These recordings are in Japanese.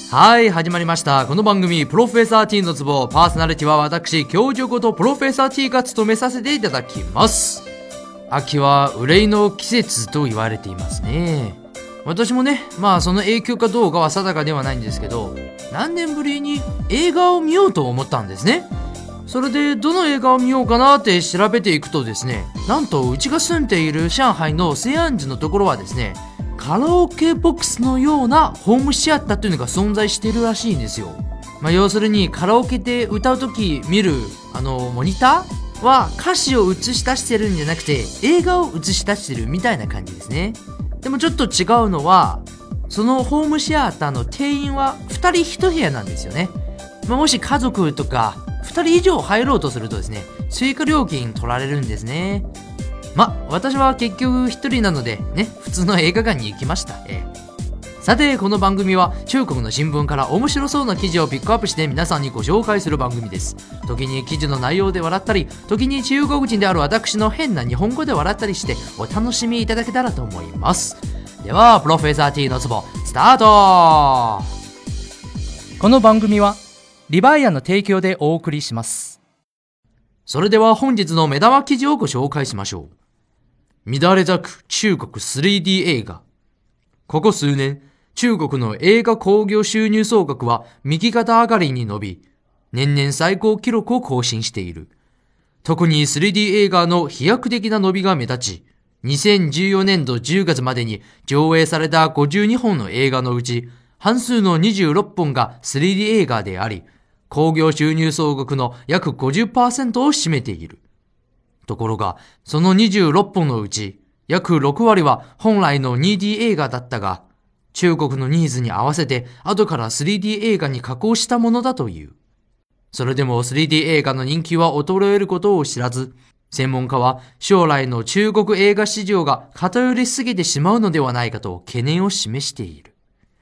はい、始まりました。この番組、プロフェッサー T のツボ、パーソナリティは私、教授ことプロフェッサー T が務めさせていただきます。秋は憂いの季節と言われていますね。私もね、その影響かどうかは定かではないんですけど、何年ぶりに映画を見ようと思ったんですね。それでどの映画を見ようかなって調べていくとですね、なんとうちが住んでいる上海の西安寺のところはですね、カラオケボックスのようなホームシアターというのが存在しているらしいんですよ。要するにカラオケで歌うとき見るモニターは歌詞を映し出してるんじゃなくて映画を映し出してるみたいな感じですね。でもちょっと違うのは、そのホームシアターの定員は2人1部屋なんですよね。もし家族とか2人以上入ろうとするとですね、追加料金取られるんですね。私は結局1人なのでね、普通の映画館に行きました。さて、この番組は中国の新聞から面白そうな記事をピックアップして皆さんにご紹介する番組です。時に記事の内容で笑ったり、時に中国人である私の変な日本語で笑ったりしてお楽しみいただけたらと思います。では、プロフェッサー T のツボスタート。この番組はリバイアの提供でお送りします。それでは本日の目玉記事をご紹介しましょう。乱れ咲く中国 3D 映画。ここ数年、中国の映画興行収入総額は右肩上がりに伸び、年々最高記録を更新している。特に 3D 映画の飛躍的な伸びが目立ち、2014年度10月までに上映された52本の映画のうち、半数の26本が 3D 映画であり、興行収入総額の約 50% を占めている。ところが、その26本のうち、約6割は本来の 2D 映画だったが、中国のニーズに合わせて後から 3D 映画に加工したものだという。それでも 3D 映画の人気は衰えることを知らず、専門家は将来の中国映画市場が偏りすぎてしまうのではないかと懸念を示している。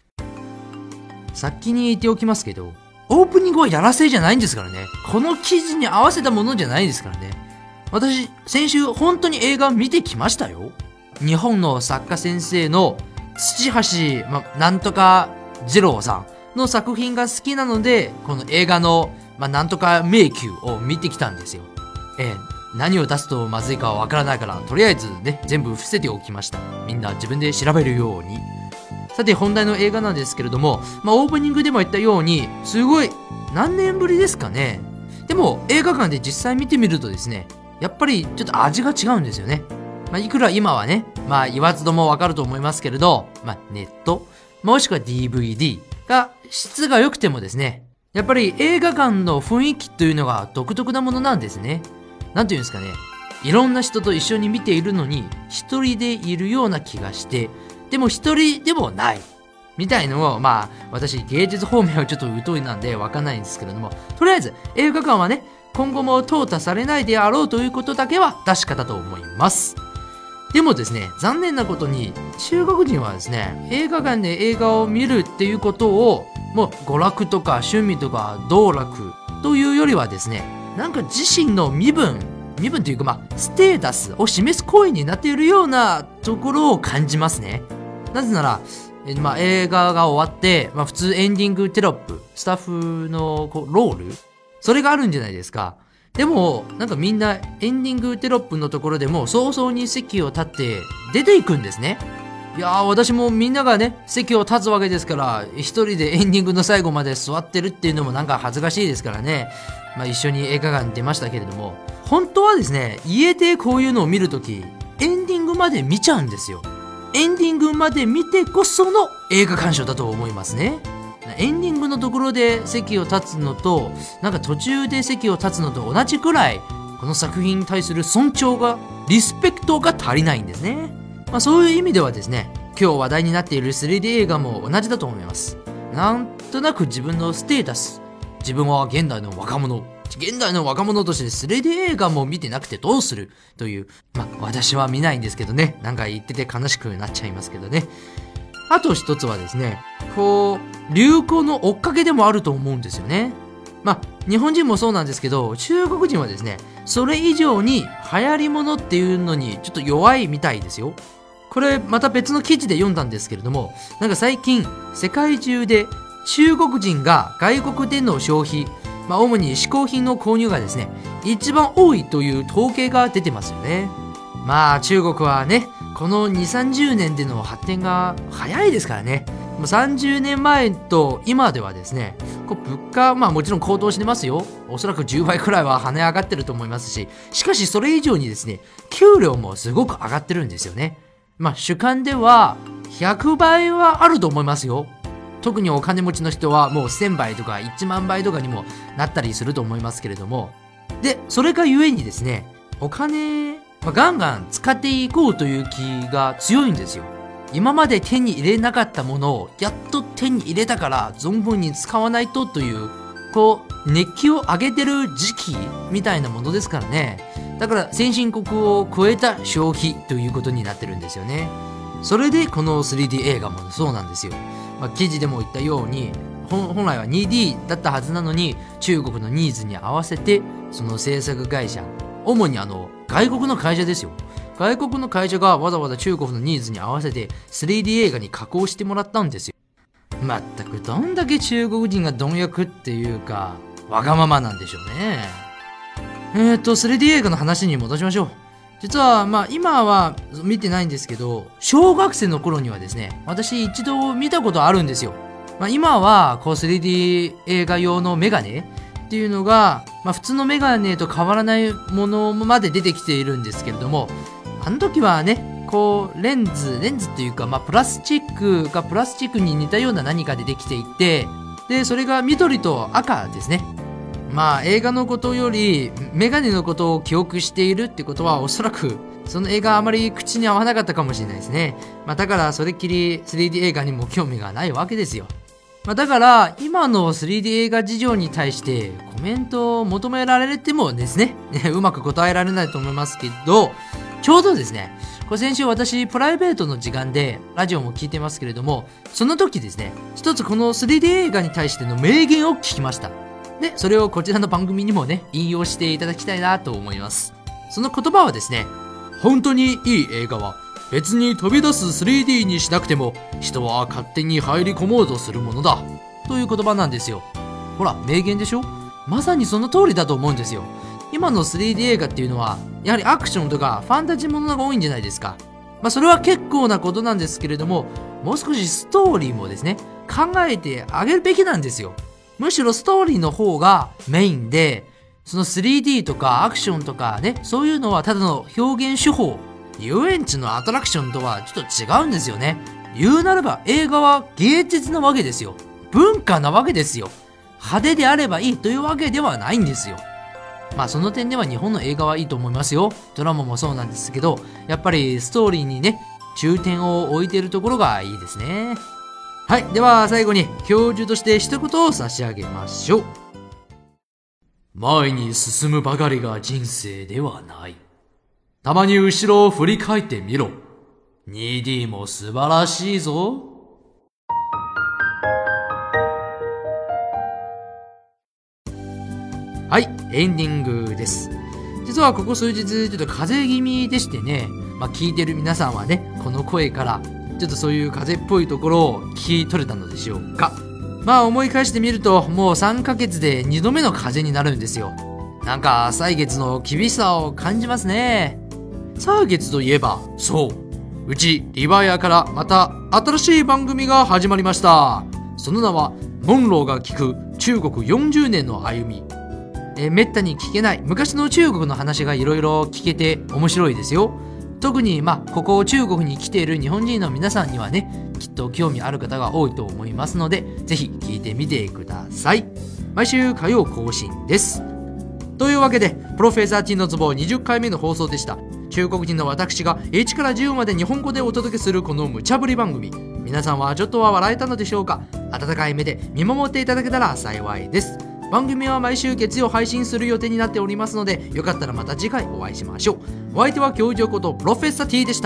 先に言っておきますけど、オープニングはやらせじゃないんですからね。この記事に合わせたものじゃないですからね。私、先週本当に映画見てきましたよ。日本の作家先生の土橋、なんとか二郎さんの作品が好きなので、この映画の、なんとか迷宮を見てきたんですよ。何を出すとまずいかはわからないから、とりあえずね、全部伏せておきました。みんな自分で調べるように。さて、本題の映画なんですけれども、オープニングでも言ったように、すごい、何年ぶりですかね。でも、映画館で実際見てみるとですね、やっぱりちょっと味が違うんですよね。いくら今はね、言わずともわかると思いますけれど、ネット、もしくは DVD が質が良くてもですね、やっぱり映画館の雰囲気というのが独特なものなんですね。なんていうんですかね、いろんな人と一緒に見ているのに、一人でいるような気がして、でも一人でもない。みたいのを、私芸術方面はちょっと疎いなんでわかんないんですけれども、とりあえず映画館はね、今後も淘汰されないであろうということだけは確かだと思います。でもですね、残念なことに中国人はですね、映画館で映画を見るっていうことをもう娯楽とか趣味とか道楽というよりはですね、なんか自身の身分というかステータスを示す行為になっているようなところを感じますね。なぜなら映画が終わって、普通エンディングテロップ、スタッフのロール、それがあるんじゃないですか。でも、なんかみんなエンディングテロップのところでも早々に席を立って出ていくんですね。いやー、私もみんながね、席を立つわけですから、一人でエンディングの最後まで座ってるっていうのもなんか恥ずかしいですからね。一緒に映画館に出ましたけれども、本当はですね、家でこういうのを見るとき、エンディングまで見ちゃうんですよ。エンディングまで見てこその映画鑑賞だと思いますね。エンディングのところで席を立つのと、なんか途中で席を立つのと同じくらい、この作品に対する尊重が、リスペクトが足りないんですね。そういう意味ではですね、今日話題になっている 3D 映画も同じだと思います。なんとなく自分のステータス、自分は現代の若者として 3D 映画も見てなくてどうするという、私は見ないんですけどね、なんか言ってて悲しくなっちゃいますけどね。あと一つはですね、流行の追っかけでもあると思うんですよね。日本人もそうなんですけど、中国人はですね、それ以上に流行り物っていうのにちょっと弱いみたいですよ。これまた別の記事で読んだんですけれども、なんか最近世界中で中国人が外国での消費、主に嗜好品の購入がですね、一番多いという統計が出てますよね。中国はね、この2、30年での発展が早いですからね。もう30年前と今ではですね、物価、もちろん高騰してますよ。おそらく10倍くらいは跳ね上がってると思いますし、しかしそれ以上にですね、給料もすごく上がってるんですよね。主観では100倍はあると思いますよ。特にお金持ちの人はもう1000倍とか1万倍とかにもなったりすると思いますけれども。で、それがゆえにですね、お金、ガンガン使っていこうという気が強いんですよ。今まで手に入れなかったものをやっと手に入れたから存分に使わないとという、熱気を上げてる時期みたいなものですからね。だから先進国を超えた消費ということになってるんですよね。それでこの 3D 映画もそうなんですよ。記事でも言ったように、本来は 2D だったはずなのに、中国のニーズに合わせてその制作会社、主に外国の会社ですよ。外国の会社がわざわざ中国のニーズに合わせて 3D 映画に加工してもらったんですよ。まったくどんだけ中国人が貪欲っていうかわがままなんでしょうね。3D 映画の話に戻しましょう。実は今は見てないんですけど、小学生の頃にはですね、私一度見たことあるんですよ。今は3D 映画用のメガネっていうのが、普通のメガネと変わらないものまで出てきているんですけれども、あの時はね、レンズっていうか、プラスチックがプラスチックに似たような何かでできていて、で、それが緑と赤ですね。映画のことよりメガネのことを記憶しているってことは、おそらくその映画あまり口に合わなかったかもしれないですね。だからそれっきり 3D 映画にも興味がないわけですよ。だから今の 3D 映画事情に対してコメントを求められてもですね、うまく答えられないと思いますけど、ちょうどですね、先週私プライベートの時間でラジオも聞いてますけれども、その時ですね、一つこの 3D 映画に対しての名言を聞きました。で、それをこちらの番組にもね、引用していただきたいなと思います。その言葉はですね、本当にいい映画は別に飛び出す 3D にしなくても人は勝手に入り込もうとするものだという言葉なんですよ。ほら、名言でしょ。まさにその通りだと思うんですよ。今の 3D 映画っていうのはやはりアクションとかファンタジーものが多いんじゃないですか。それは結構なことなんですけれども、もう少しストーリーもですね、考えてあげるべきなんですよ。むしろストーリーの方がメインで、その 3D とかアクションとかね、そういうのはただの表現手法。遊園地のアトラクションとはちょっと違うんですよね。言うならば映画は芸術なわけですよ。文化なわけですよ。派手であればいいというわけではないんですよ。その点では日本の映画はいいと思いますよ。ドラマもそうなんですけど、やっぱりストーリーにね、重点を置いているところがいいですね。はい、では最後に教授として一言を差し上げましょう。前に進むばかりが人生ではない。たまに後ろを振り返ってみろ。2D も素晴らしいぞ。はい、エンディングです。実はここ数日ちょっと風邪気味でしてね、聞いてる皆さんはね、この声からちょっとそういう風邪っぽいところを聞き取れたのでしょうか。思い返してみると、もう3ヶ月で2度目の風邪になるんですよ。なんか歳月の厳しさを感じますね。歳月といえば、そう、うちリバヤからまた新しい番組が始まりました。その名はモンローが聞く中国40年の歩み。めったに聞けない昔の中国の話がいろいろ聞けて面白いですよ。特にここ中国に来ている日本人の皆さんにはね、きっと興味ある方が多いと思いますので、ぜひ聞いてみてください。毎週火曜更新です。というわけで、プロフェッサー T のツボ20回目の放送でした。中国人の私が1から10まで日本語でお届けするこの無茶ぶり番組、皆さんはちょっとは笑えたのでしょうか。温かい目で見守っていただけたら幸いです。番組は毎週月曜配信する予定になっておりますので、よかったらまた次回お会いしましょう。お相手は教授ことプロフェッサー T でした。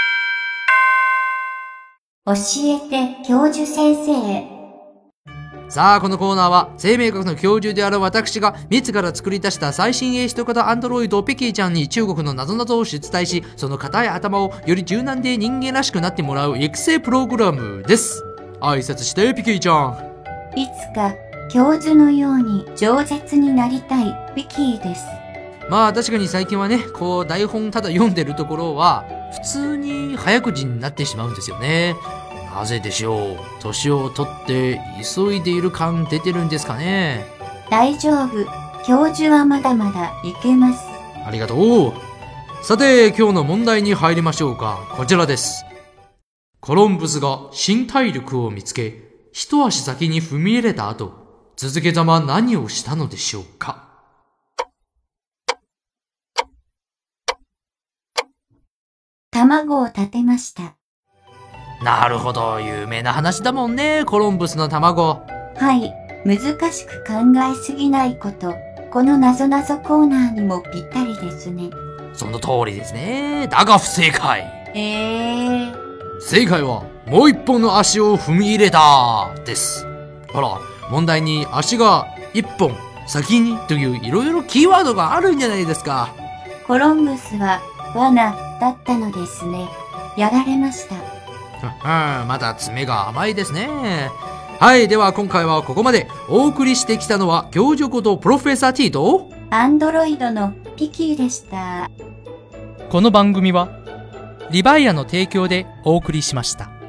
教えて教授先生。 さあ、このコーナーは生命学の教授である私が自ら作り出した最新鋭人型アンドロイドペキーちゃんに中国の謎々を出題し、その硬い頭をより柔軟で人間らしくなってもらう育成プログラムです。挨拶してピキーちゃん。 いつか教授のように饒舌になりたいピキーです。 まあ確かに最近はね、こう台本ただ読んでるところは普通に早口になってしまうんですよね。なぜでしょう。年を取って急いでいる感出てるんですかね。 大丈夫。教授はまだまだいけます。 ありがとう。さて、今日の問題に入りましょうか。こちらです。コロンブスが新大陸を見つけ、一足先に踏み入れた後、続けざま何をしたのでしょうか。 卵を立てました。 なるほど、有名な話だもんね、コロンブスの卵。 はい、難しく考えすぎないこと。この謎々コーナーにもぴったりですね。 その通りですね。だが不正解。正解は、もう一本の足を踏み入れたです。ほら、問題に足が一本先にといういろいろキーワードがあるんじゃないですか。 コロンブスは罠だったのですね。やられました。 まだ爪が甘いですね。はい、では今回はここまで。お送りしてきたのは教授ことプロフェッサー T とアンドロイドのピキーでした。 この番組はリバイアの提供でお送りしました。